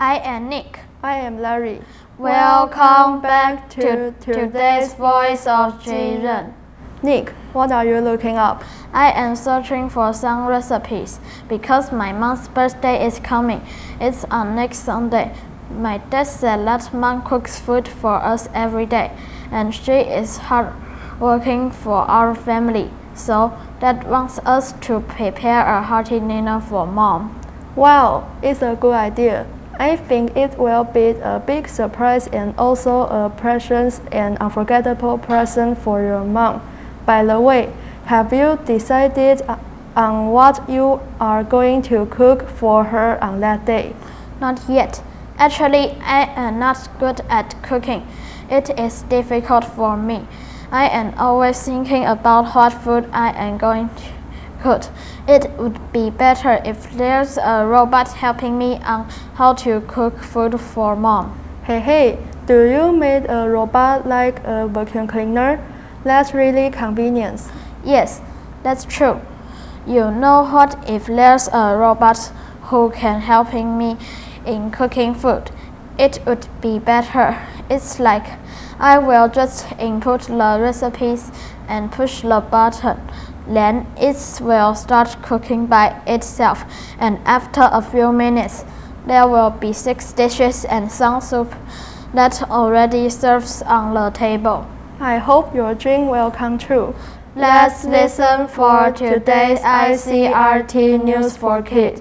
I am Nick. I am Larry. Welcome back to today's Voice of Children. Nick, what are you looking up? I am searching for some recipes because my mom's birthday is coming. It's on next Sunday. My dad said that mom cooks food for us every day, and she is hard working for our family. So dad wants us to prepare a hearty dinner for mom. Wow, it's a good idea. I think it will be a big surprise and also a precious and unforgettable present for your mom. By the way, have you decided on what you are going to cook for her on that day? Not yet. Actually, I am not good at cooking. It is difficult for me. I am always thinking about what food I am going to cook. It would be better if there's a robot helping me on how to cook food for mom. Hey, do you make a robot like a vacuum cleaner? That's really convenient. Yes, that's true. You know what, if there's a robot who can helping me in cooking food, it would be better. It's like I will just input the recipes and push the button. Then it will start cooking by itself, and after a few minutes, there will be 6 dishes and some soup that already serves on the table. I hope your dream will come true. Let's listen for today's ICRT News for Kids.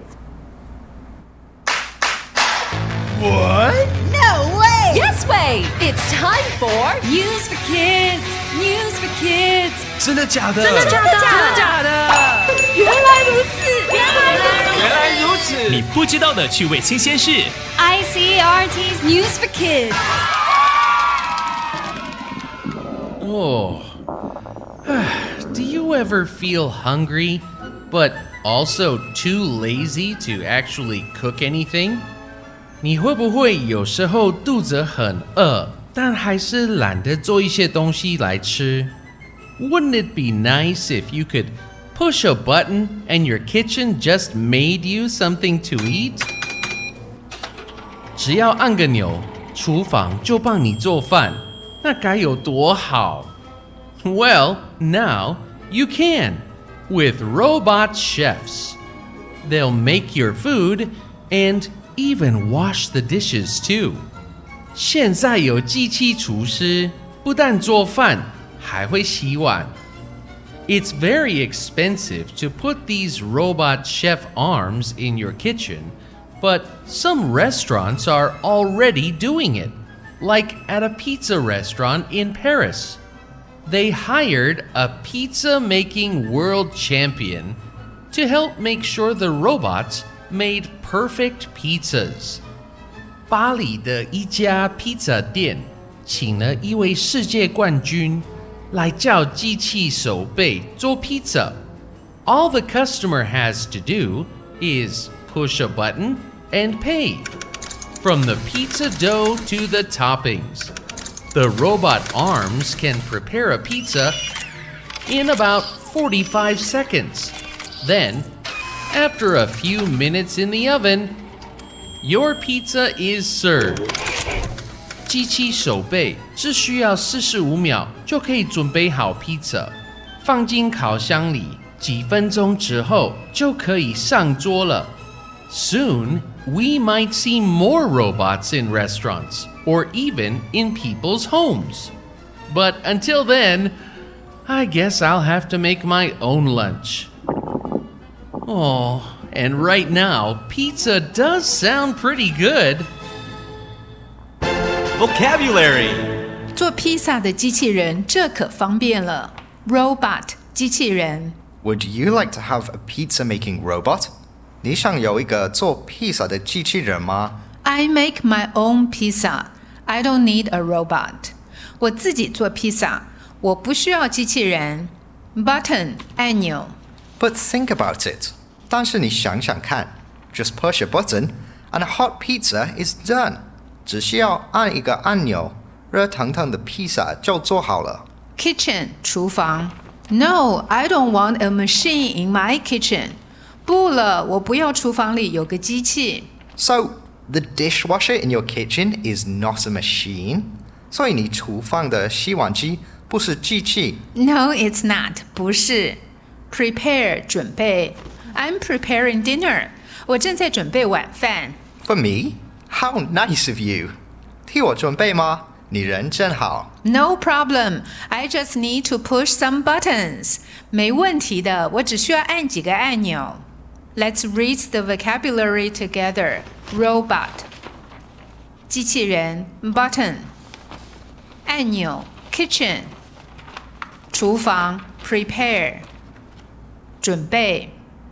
What? No way! Yes way! It's time for News for Kids! News for Kids! 真的假的？ 真的假的？真的假的？原来如此！ 原来如此！ 你不知道的趣味新鲜事 ICRT's News for Kids. Oh. Do you ever feel hungry, but also too lazy to actually cook anything? 你会不会有時候肚子很餓，但還是懶得做一些東西來吃？ Wouldn't it be nice if you could push a button and your kitchen just made you something to eat? 只要按個鈕，廚房就幫你做飯，那該有多好？ Well, now you can with robot chefs. They'll make your food and even wash the dishes too. 現在有機器廚師，不但做飯，還會洗碗。It's very expensive to put these robot chef arms in your kitchen, but some restaurants are already doing it, like at a pizza restaurant in Paris. They hired a pizza-making world champion to help make sure the robots made perfect pizzas. 巴黎的一家披薩店請了一位世界冠軍來教機器手背做披薩。All the customer has to do is push a button and pay. From the pizza dough to the toppings, the robot arms can prepare a pizza in about 45 seconds. Then, after a few minutes in the oven, your pizza is served. 機器手背只需要45秒就可以準備好披薩，放進烤箱裡，幾分鐘之後就可以上桌了。Soon, we might see more robots in restaurants or even in people's homes. But until then, I guess I'll have to make my own lunch. Oh, and right now, pizza does sound pretty good. Vocabulary 做披萨的机器人，這可方便了。Robot 機器人。 Would you like to have a pizza-making robot? 你想有一個做披薩的機器人嗎？ I make my own pizza. I don't need a robot. 我自己做披薩，我不需要機器人。Button 按鈕。 But think about it. 但是你想想看 Just push a button and a hot pizza is done. 只需要按一個按鈕，熱騰騰的披薩就做好了。 Kitchen 廚房。No, I don't want a machine in my kitchen. 不了，我不要廚房裡有個機器。 So, The dishwasher in your kitchen is not a machine. 所以你厨房的洗碗机不是机器。 No, it's not. 不是。Prepare 準備。I'm preparing dinner. 我正在準備晚飯。 For me? How nice of you. 替我準備嗎？你人真好。 No problem. I just need to push some buttons. 沒問題的，我只需要按幾個按鈕。Let's read the vocabulary together. Robot. 機器人 button. 按鈕 kitchen. 廚房 prepare. 準備。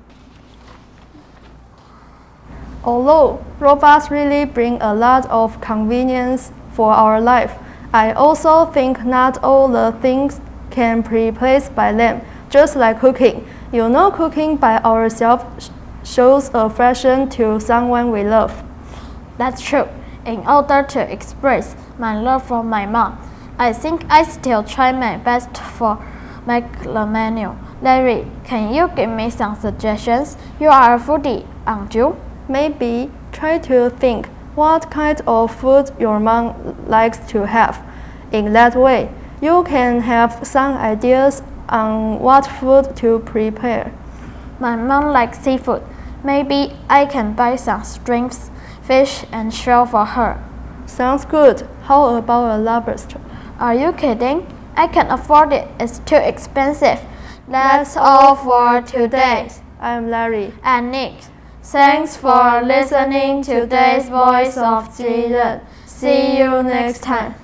Although robots really bring a lot of convenience for our life, I also think not all the things can be replaced by them, just like cooking. You know, cooking by ourselves shows affection to someone we love. That's true. In order to express my love for my mom, I think I still try my best for make the menu. Larry, can you give me some suggestions? You are a foodie, aren't you? Maybe try to think what kind of food your mom likes to have. In that way, you can have some ideas on what food to prepare. My mom likes seafood. Maybe I can buy some shrimps, fish, and shell for her. Sounds good. How about a lobster? Are you kidding? I can't afford it. It's too expensive. That's all for today. I'm Larry. And Nick. Thanks for listening to today's Voice of Jiren. See you next time.